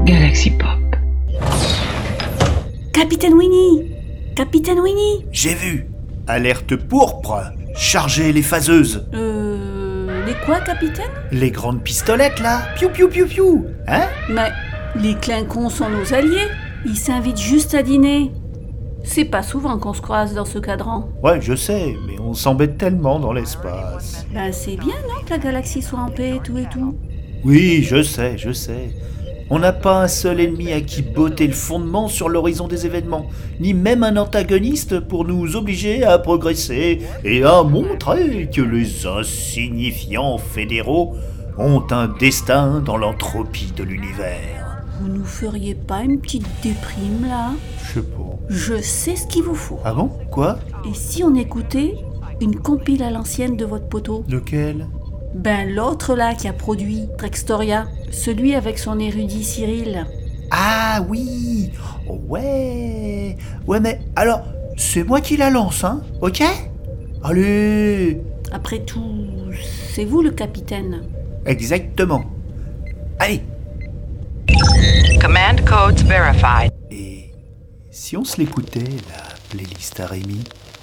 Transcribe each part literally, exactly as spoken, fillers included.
Galaxy Pop. Capitaine Winnie! Capitaine Winnie! J'ai vu. Alerte pourpre. Chargez les phaseuses. Euh... Les quoi, capitaine? Les grandes pistolettes, là. Piou, piou, piou, piou. Hein? Mais les clincons sont nos alliés. Ils s'invitent juste à dîner. C'est pas souvent qu'on se croise dans ce cadran. Ouais, je sais, mais on s'embête tellement dans l'espace. Ben c'est bien, non, que la galaxie soit en paix et tout et tout. Oui, je sais, je sais. On n'a pas un seul ennemi à qui botter le fondement sur l'horizon des événements, ni même un antagoniste pour nous obliger à progresser et à montrer que les insignifiants fédéraux ont un destin dans l'entropie de l'univers. Vous nous feriez pas une petite déprime, là? Je sais pas. Je sais ce qu'il vous faut. Ah bon? Quoi? Et si on écoutait une compile à l'ancienne de votre poteau? Lequel? Ben l'autre là qui a produit Trextoria, celui avec son érudit Cyril. Ah oui! Ouais! Ouais, mais alors, c'est moi qui la lance, hein? Ok? Allez! Après tout, c'est vous le capitaine. Exactement. Allez! Command codes verified. Et si on se l'écoutait, la playlist à Rémi?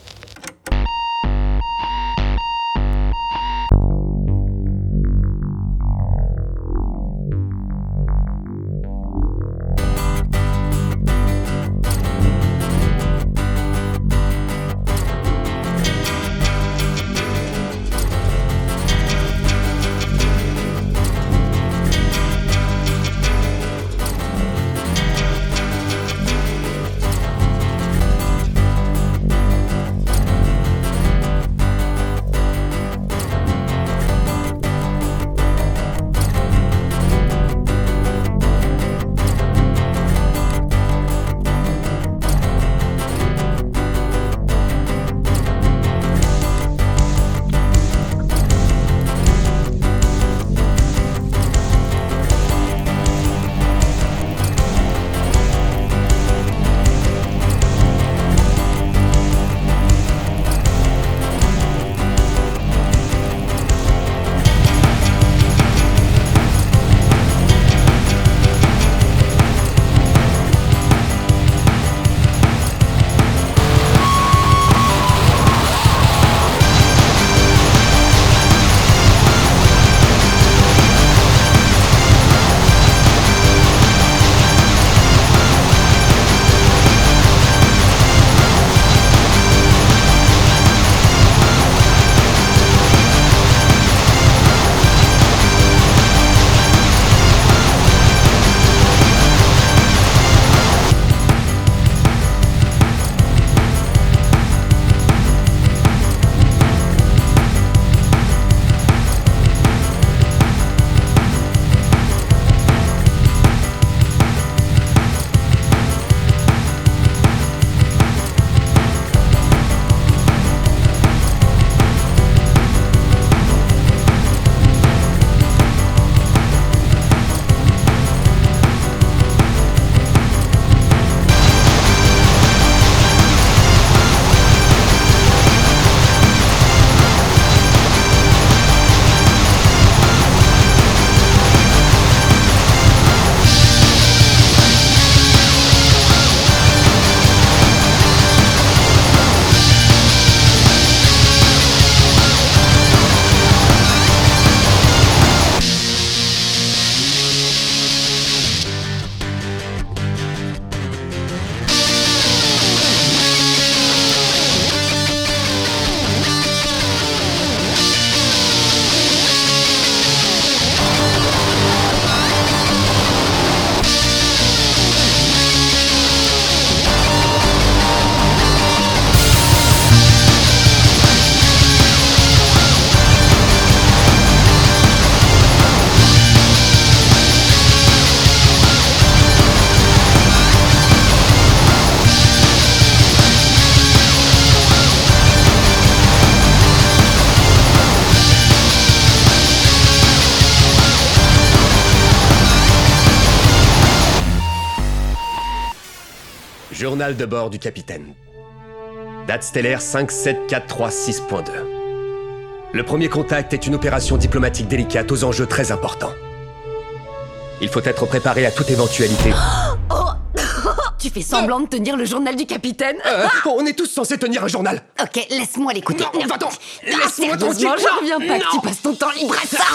Journal de bord du capitaine. Date stellaire cinq sept quatre trois six point deux. Le premier contact est une opération diplomatique délicate aux enjeux très importants. Il faut être préparé à toute éventualité. Oh Tu fais semblant de tenir le journal du capitaine? Euh, on est tous censés tenir un journal. Ok, laisse-moi l'écouter. Non, va-t'en. Ah, Laisse-moi tranquille. sérieusement, je reviens pas que tu passes ton temps libre à ça.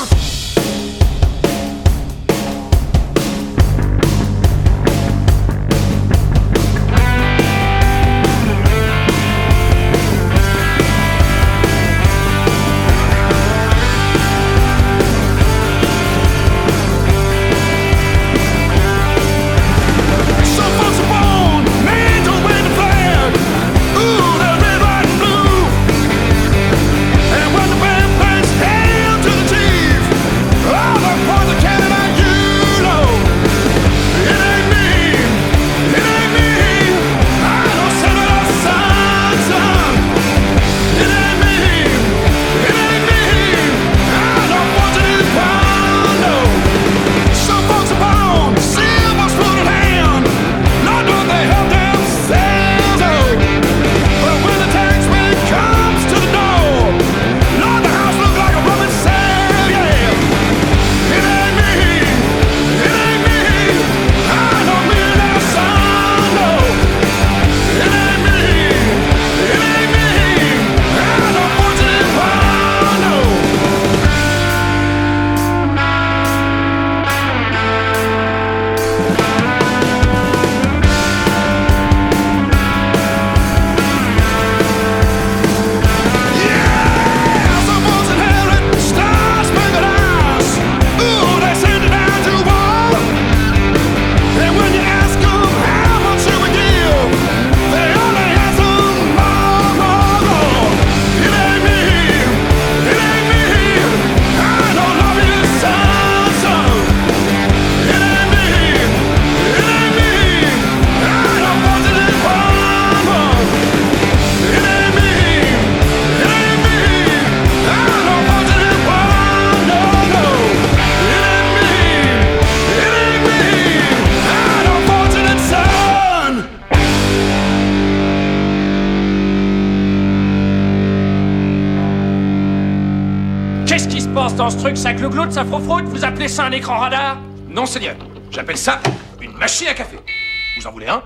Dans ce truc, ça glougloute, ça frofroute, vous appelez ça un écran radar? Non, Seigneur. J'appelle ça une machine à café. Vous en voulez un?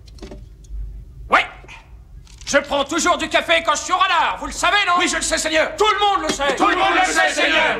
Ouais. Je prends toujours du café quand je suis au radar, vous le savez, non? Oui, je le sais, Seigneur. Tout le monde le sait. Tout le monde le sait, Seigneur.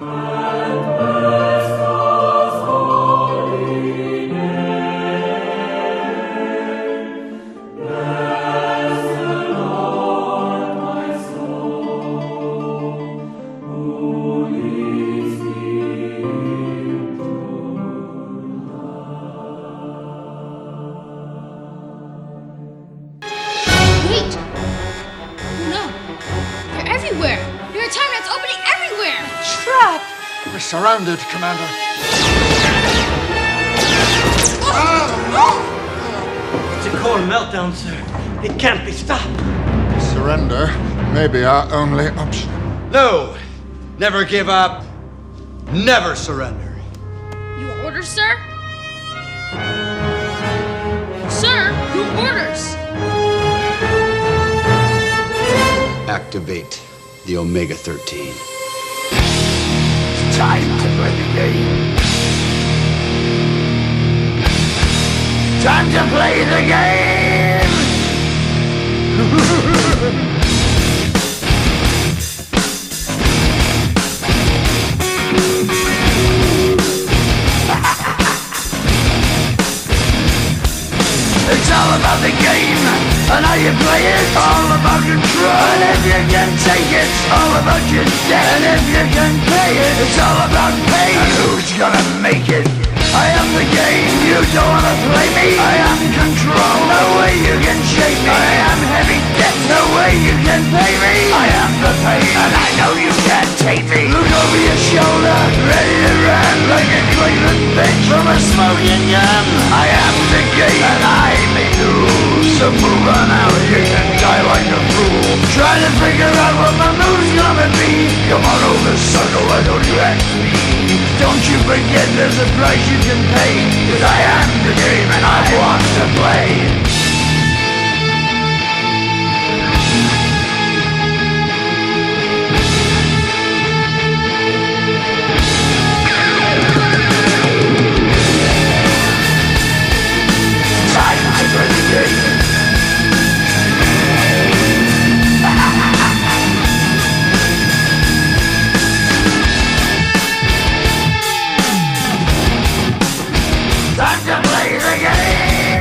We're surrounded, Commander. It's a core meltdown, sir. It can't be stopped. Surrender may be our only option. No! Never give up. Never surrender. Your orders, sir? Sir, your orders! Activate the Omega thirteen. Time to play the game. Time to play the game! It's all about the game, and how you play it. All about control, and if you can take it, it's all about your debt. And if you can pay it, it's all about pain. And who's gonna make it? I am the game, you don't wanna play me. I am control, no way you can shake me. I am heavy debt, no way you can pay me. I am the pain, and I know you can't take me. Look over your shoulder, ready to run like a Cleveland bitch from a smoking gun. I am the game, and I may lose. So move on out, you can die like a fool. Trying to figure out what my move's gonna be. Come on over, sucker, why don't you ask me? Don't you forget there's a price you can pay. Cause I am the game and I want to play. Time to play the game. Time to play the game!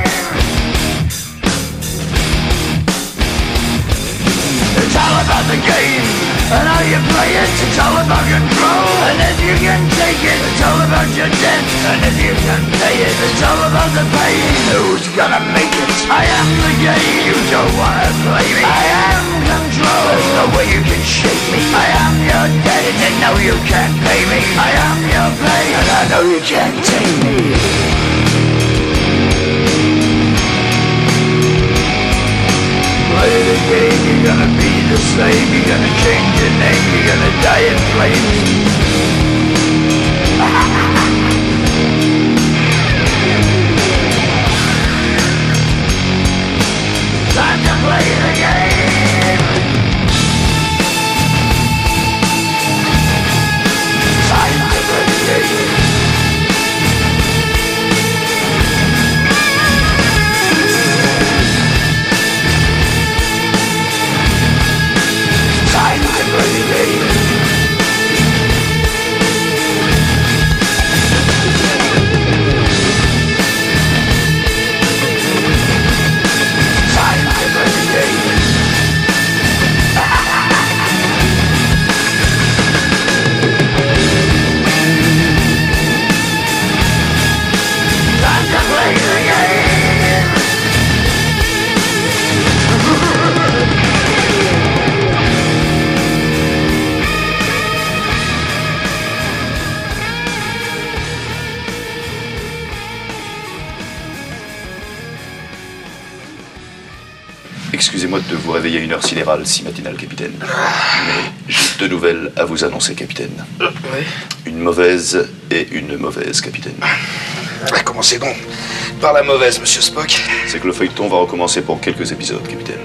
It's all about the game, and how you play it. It's all about control, and if you can take it, it's all about your debt. And if you can pay it, it's all about the pain. Who's gonna make it? I am the game, you don't wanna play me. I am control, there's no way you can shake me. I am your debt, and you know you can't pay me. I am your pain, and I know you can't take me. Play the game, you're gonna be the same. You're gonna change your name, you're gonna die in flames. Time to play the game. Time to play the game. Time to play the game. Time to play the game. Time to play the game. Excusez-moi de vous réveiller à une heure sidérale si matinale, capitaine. Mais j'ai deux nouvelles à vous annoncer, capitaine. Oui. Une mauvaise et une mauvaise, capitaine. Ah, commencez donc par la mauvaise, monsieur Spock. C'est que le feuilleton va recommencer pour quelques épisodes, capitaine.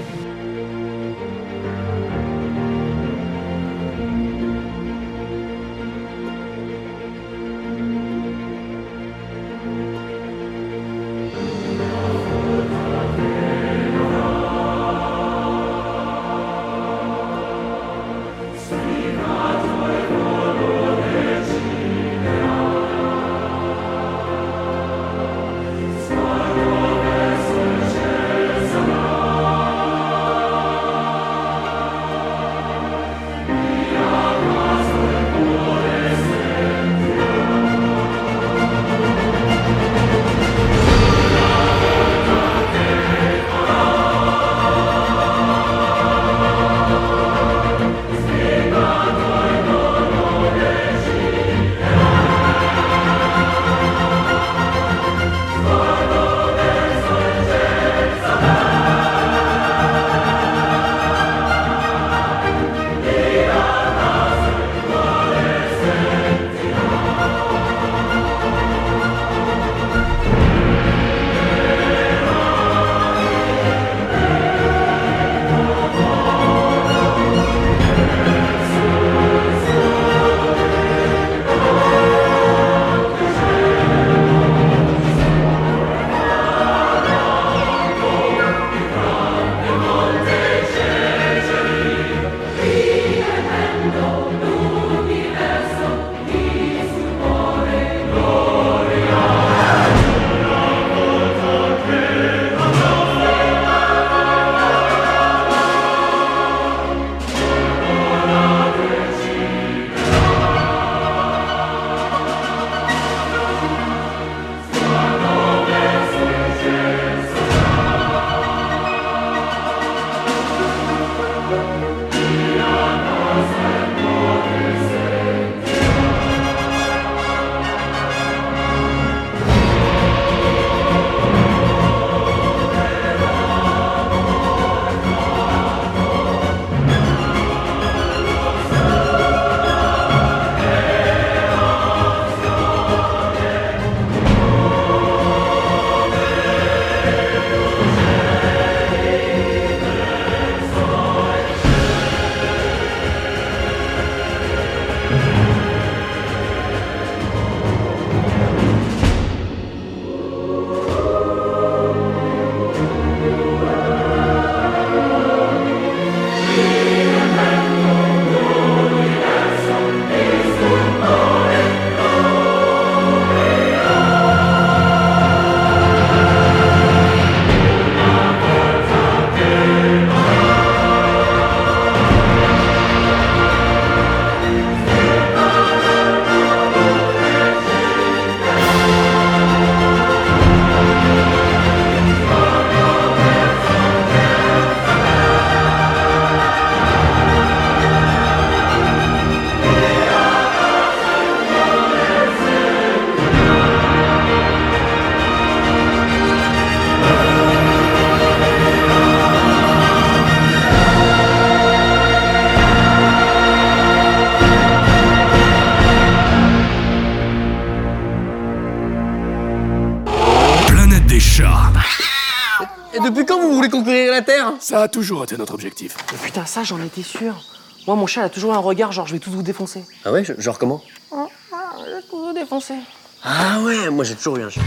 depuis quand vous voulez conquérir la Terre? Ça a toujours été notre objectif. Mais putain, ça, j'en étais sûr. Moi, mon chat, il a toujours un regard genre, je vais tous vous défoncer. Ah ouais, genre comment? Ah, je vais tous vous défoncer. Ah ouais, moi j'ai toujours eu un chat.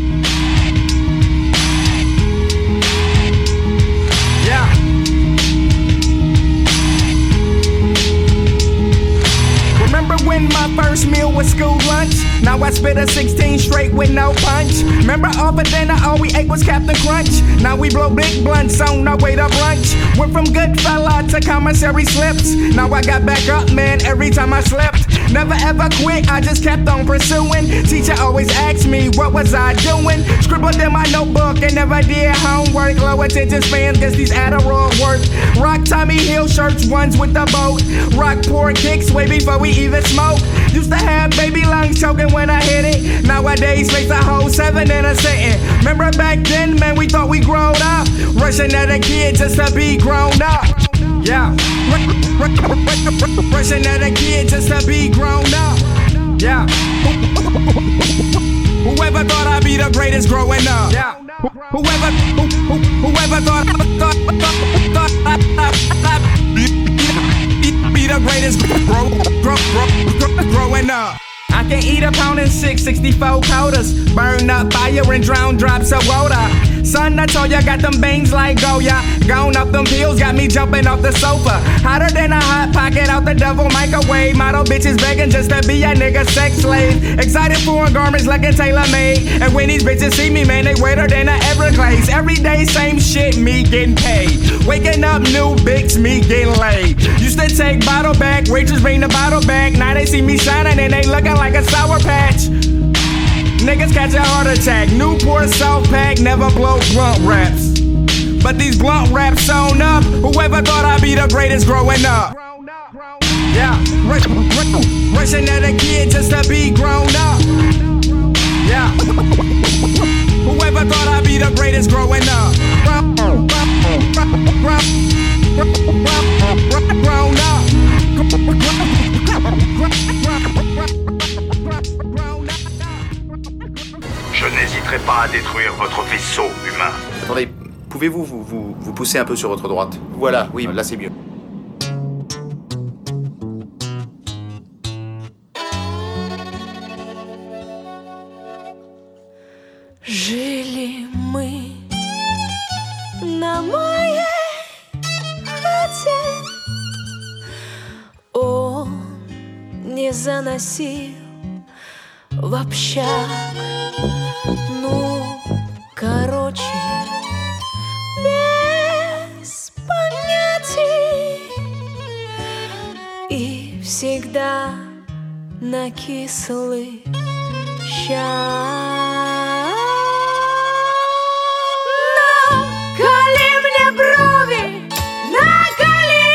Yeah. Remember when my first meal was school lunch? Now I spit a sixteen straight with no punch. Remember all for dinner, all we ate was Captain Crunch. Now we blow big blunts on our way to brunch. Went from good fella to commissary slips. Now I got back up, man, every time I slipped. Never ever quit, I just kept on pursuing. Teacher always asked me, what was I doing? Scribbled in my notebook and never did homework. Low attention spans, guess these Adderall work. Rock Tommy Hill shirts, ones with the boat. Rock poor kicks way before we even smoke. Used to have baby lungs choking when I hit it. Nowadays face a whole seven in a sitting. Remember back then, man, we thought we grown up. Rushing at a kid just to be grown up. Yeah. Rushing at a kid just to be grown up. Yeah. Whoever thought I'd be the greatest growing up. Yeah. Whoever, who, who, whoever thought, thought, thought, thought I'd be the greatest grow, grow, grow, grow, growing up. I can eat a pound and six, sixty-four quarters. Burn up fire and drown drops of water. Son, I told ya, got them bangs like Goya. Gone up them pills, got me jumping off the sofa. Hotter than a hot pocket out the devil microwave. Model bitches begging just to be a nigga sex slave. Excited for garments like a tailor-made. And when these bitches see me, man, they wetter than a Everglades. Every day, same shit, me getting paid. Waking up, new bigs, me getting laid. Used to take bottle back, waitress bring the bottle back. Now they see me shining and they looking like a Sour Patch. Niggas catch a heart attack. Newport South Pack never blow blunt raps. But these blunt raps sewn up. Whoever thought I'd be the greatest growing up. Yeah, rush, rush, rushing at a kid just to be grown up. Yeah, whoever thought I'd be the greatest growing up. Grown up. Je n'hésiterai pas à détruire votre vaisseau humain. Attendez, pouvez-vous vous, vous, vous pousser un peu sur votre droite? Voilà, oui, là c'est mieux. Жили мы на моей хате. Он не заносил в общак. Ну, короче, без понятий. И всегда на кислый щас. Наколи мне брови, наколи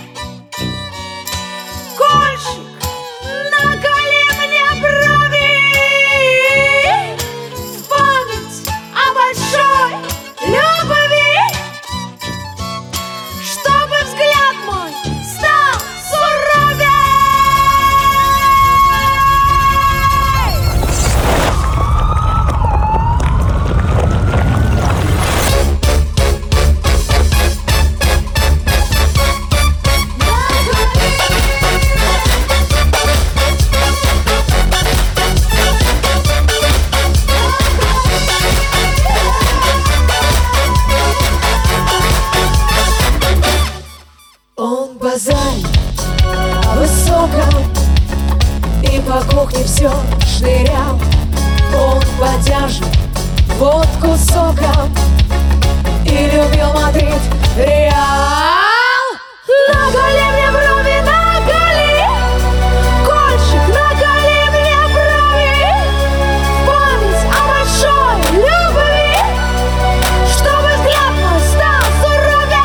кольчик, наколи мне брови в память о большой любви, чтобы взгляд мой стал суровей. Он базарит о высоком и по кухне все шнырял. Он подержит водку соком и любил Мадрид, Реал. Наколи мне брови, наколи кольчик, наколи мне брови в память о большой любви, чтобы взгляд мой стал суровей.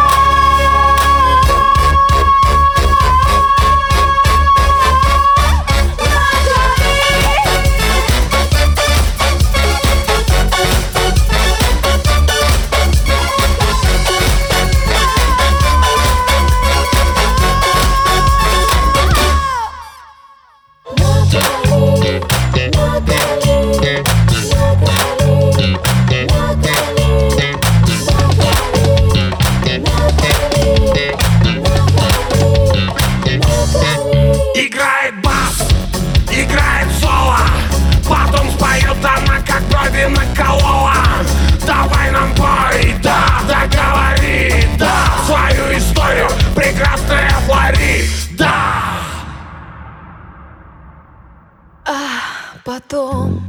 Потом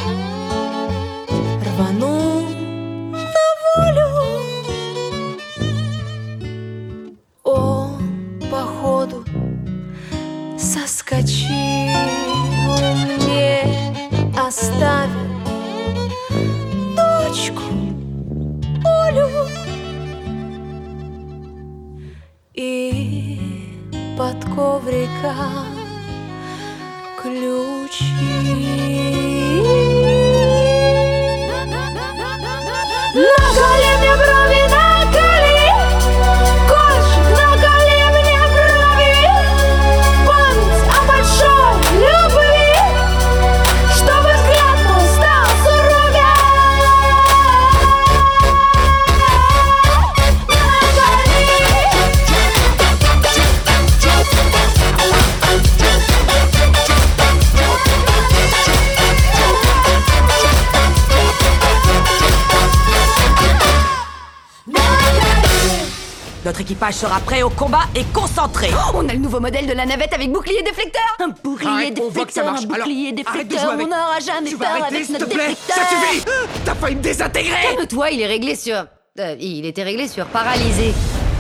рвану на волю. Он, походу, соскочил, мне оставил дочку Олю и под ковриком ключи. Наколи мне брови, наколи, кончик, наколи мне брови. Память о большой любви, чтобы взгляд мой стал суровее. Notre équipage sera prêt au combat et concentré. Oh, on a le nouveau modèle de la navette avec bouclier déflecteur. Un bouclier Arrête, on voit que ça déflecteur, marche. un bouclier Alors, déflecteur. arrête de jouer On n'aura jamais Tu vas peur arrêter, avec s'il notre te plaît. déflecteur. Ça suffit. T'as failli me désintégrer. Calme-toi, il est réglé sur... Euh, il était réglé sur paralysé.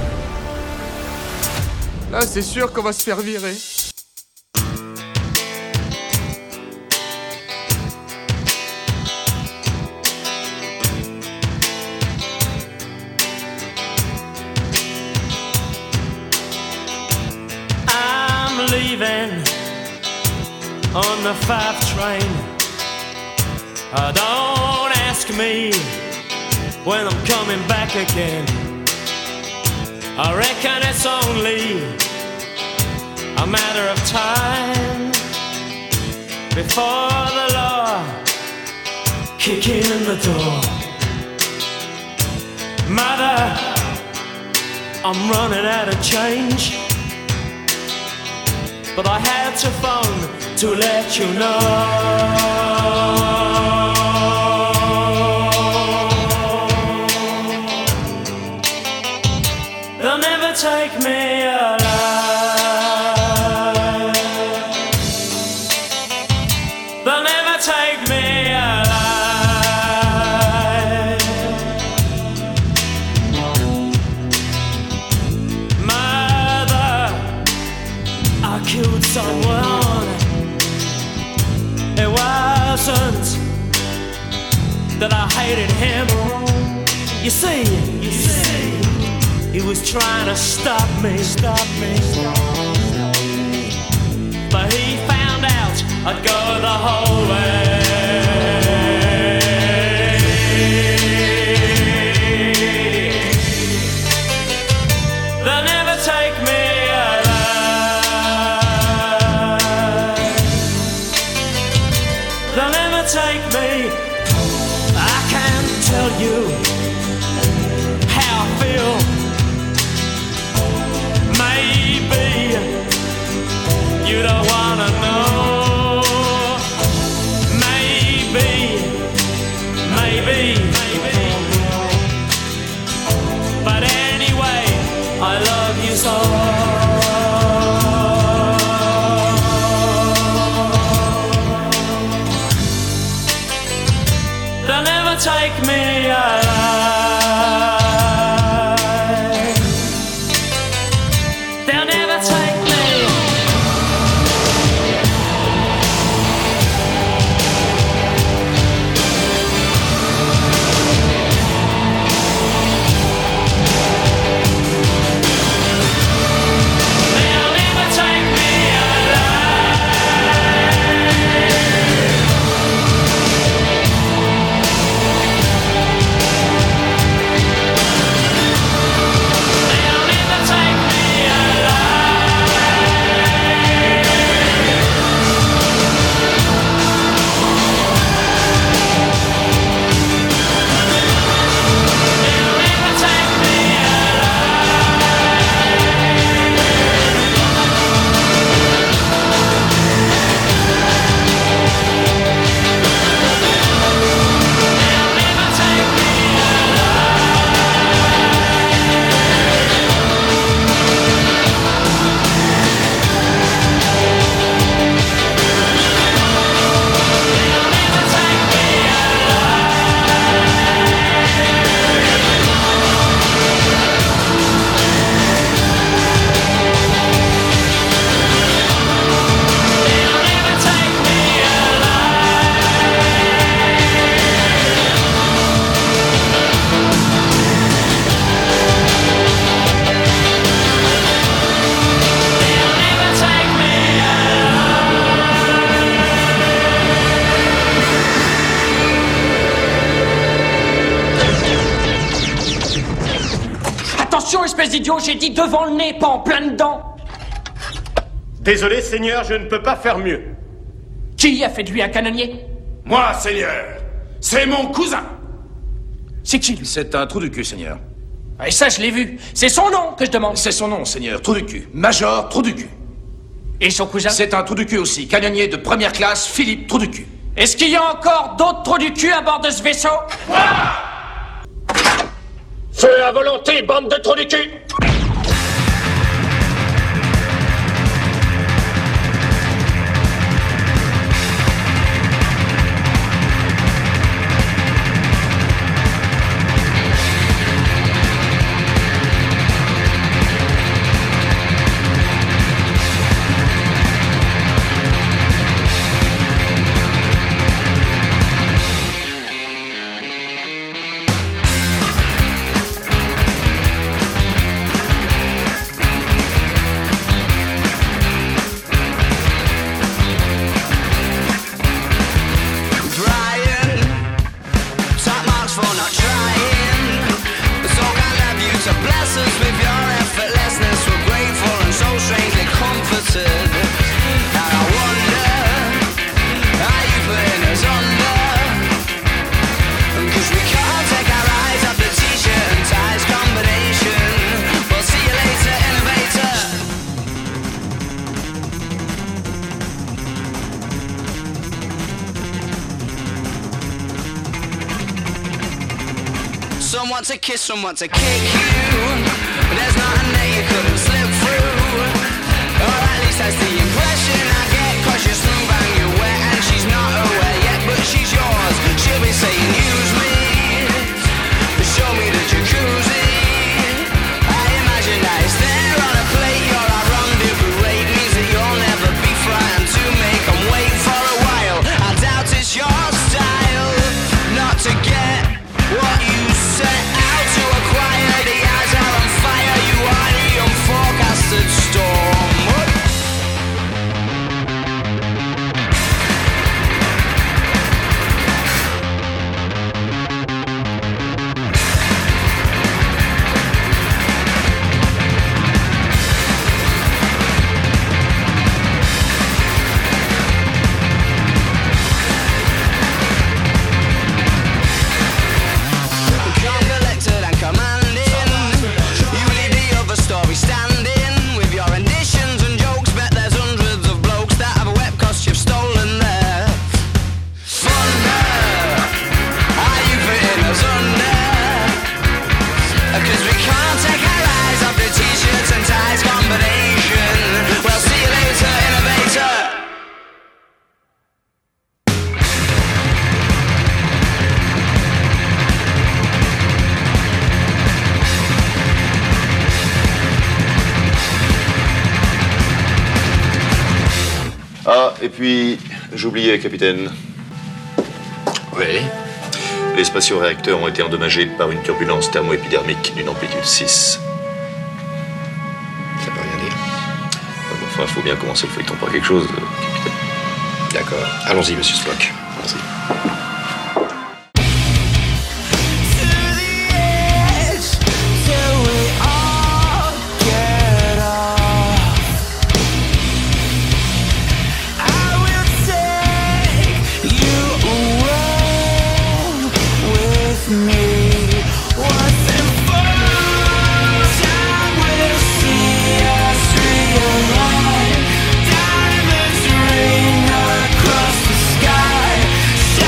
Là, c'est sûr qu'on va se faire virer. I'm leaving on the five train. Uh, don't ask me when I'm coming back again. I reckon it's only a matter of time before the law kick in the door. Mother, I'm running out of change, but I had to phone to let you know. They'll never take me alive. They'll never take me alive. Mother, I killed someone. It wasn't that I hated him. You see, you see, he was trying to stop me, stop me, stop me. But he found out I'd go the whole way. They'll never take me alive. They'll never take me. I can't tell you how I feel. Maybe you don't wanna know. Maybe, maybe, maybe. But anyway, I love you so. They'll never take me alive. They'll never take me. They'll never take me alive. ces idiots, j'ai dit devant le nez, pas en plein dedans. Désolé, Seigneur, je ne peux pas faire mieux. Qui a fait de lui un canonnier? Moi, Seigneur. C'est mon cousin. C'est qui, lui? C'est un trou du cul, Seigneur. Et ça, je l'ai vu. C'est son nom que je demande. C'est son nom, Seigneur. Trou du cul. Major Trou du cul. Et son cousin? C'est un trou du cul aussi. Canonnier de première classe, Philippe Trou du cul. Est-ce qu'il y a encore d'autres trous du cul à bord de ce vaisseau? Feu à volonté, bande de trous du cul! Someone to kiss, someone to kick you. There's nothing that you couldn't slip through. Or at least that's the impression I get. Cause you're smooth and you're wet and she's not aware yet, but she's yours. She'll be saying use me, show me the jacuzzi. I imagine that it's there on a plate. You're our rendezvous rate, means that you'll never be frightened to make them wait for a while. I doubt it's your style not to get what you set out to acquire. The eyes are on fire, you are the unforecasted storm. Ah, et puis, j'oubliais, capitaine. Oui. Les spatio-réacteurs ont été endommagés par une turbulence thermo-épidermique d'une amplitude six. Ça peut rien dire. Enfin, il faut bien commencer le feuilleton par quelque chose, capitaine. D'accord. Allons-y, monsieur Spock. Allons-y. Diamonds rain across the sky.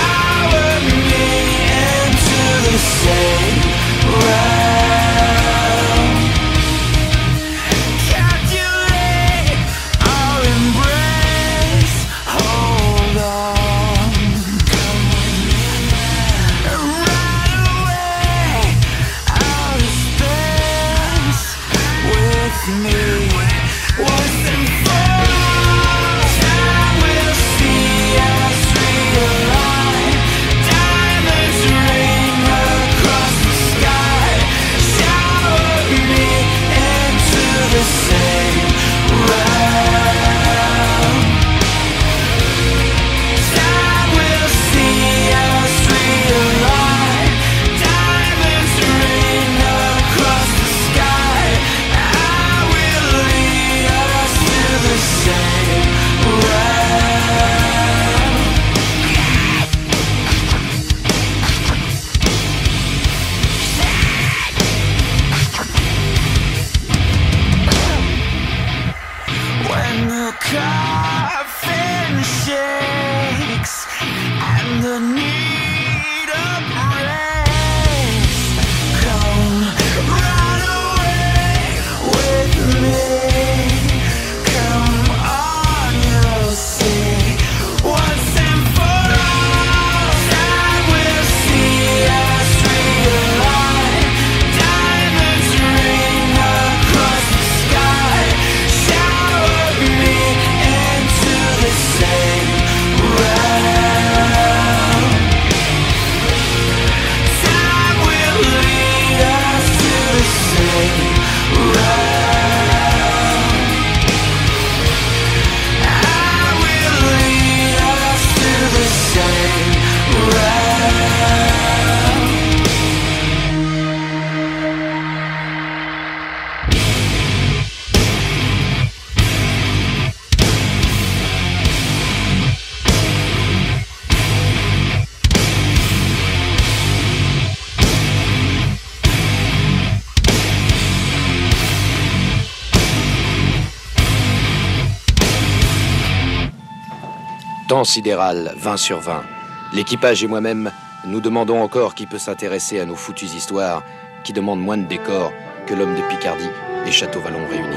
Temps sidéral, vingt sur vingt. L'équipage et moi-même, nous demandons encore qui peut s'intéresser à nos foutues histoires, qui demandent moins de décors que l'homme de Picardie et Château Vallon réunis.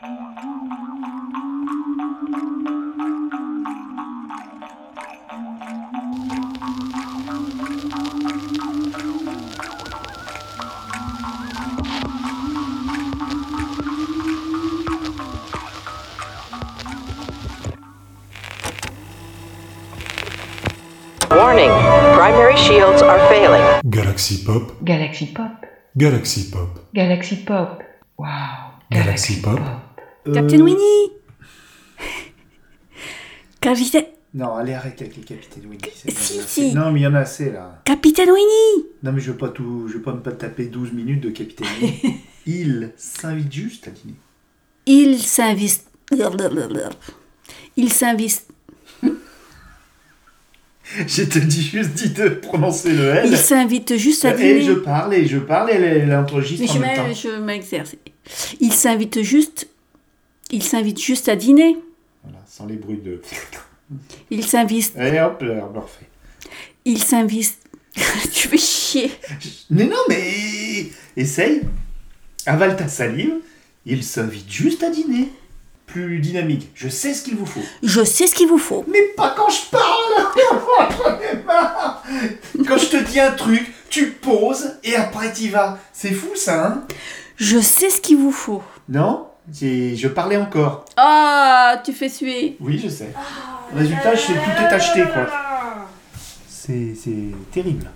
Warning, primary shields are failing. Galaxy Pop. Galaxy Pop. Galaxy Pop. Galaxy Pop. Wow. Galaxy Pop. Captain Winnie. Capitaine... Non, allez, arrête avec les Capitaine Winnie. Si, si. Non, mais il y en a assez, là. Capitaine Winnie. Non, mais je veux pas tout... Je veux pas me pas taper douze minutes de Capitaine Winnie. Il s'invite juste à dîner. Il s'invite... Il s'invite... Je te dis juste dis de prononcer le L. Il s'invite juste à dîner. Et je parle, et je parle, et elle, elle enregistre en je même temps. Je m'exerce. Il s'invite juste... Il s'invite juste à dîner. Voilà, sans les bruits de... Il s'invite... Et hop, là, on le refait. Il s'invite... Tu fais chier. Mais non, mais... Essaye. Avale ta salive. Il s'invite juste à dîner. Plus dynamique. Je sais ce qu'il vous faut. Je sais ce qu'il vous faut. Mais pas quand je parle. J'en ai marre. Quand je te dis un truc, tu poses et après t'y vas. C'est fou ça, hein? Je sais ce qu'il vous faut. Non? C'est... Je parlais encore. Ah, tu fais suer. Oui, je sais. Résultat, je sais tout est acheté, quoi. C'est, c'est terrible.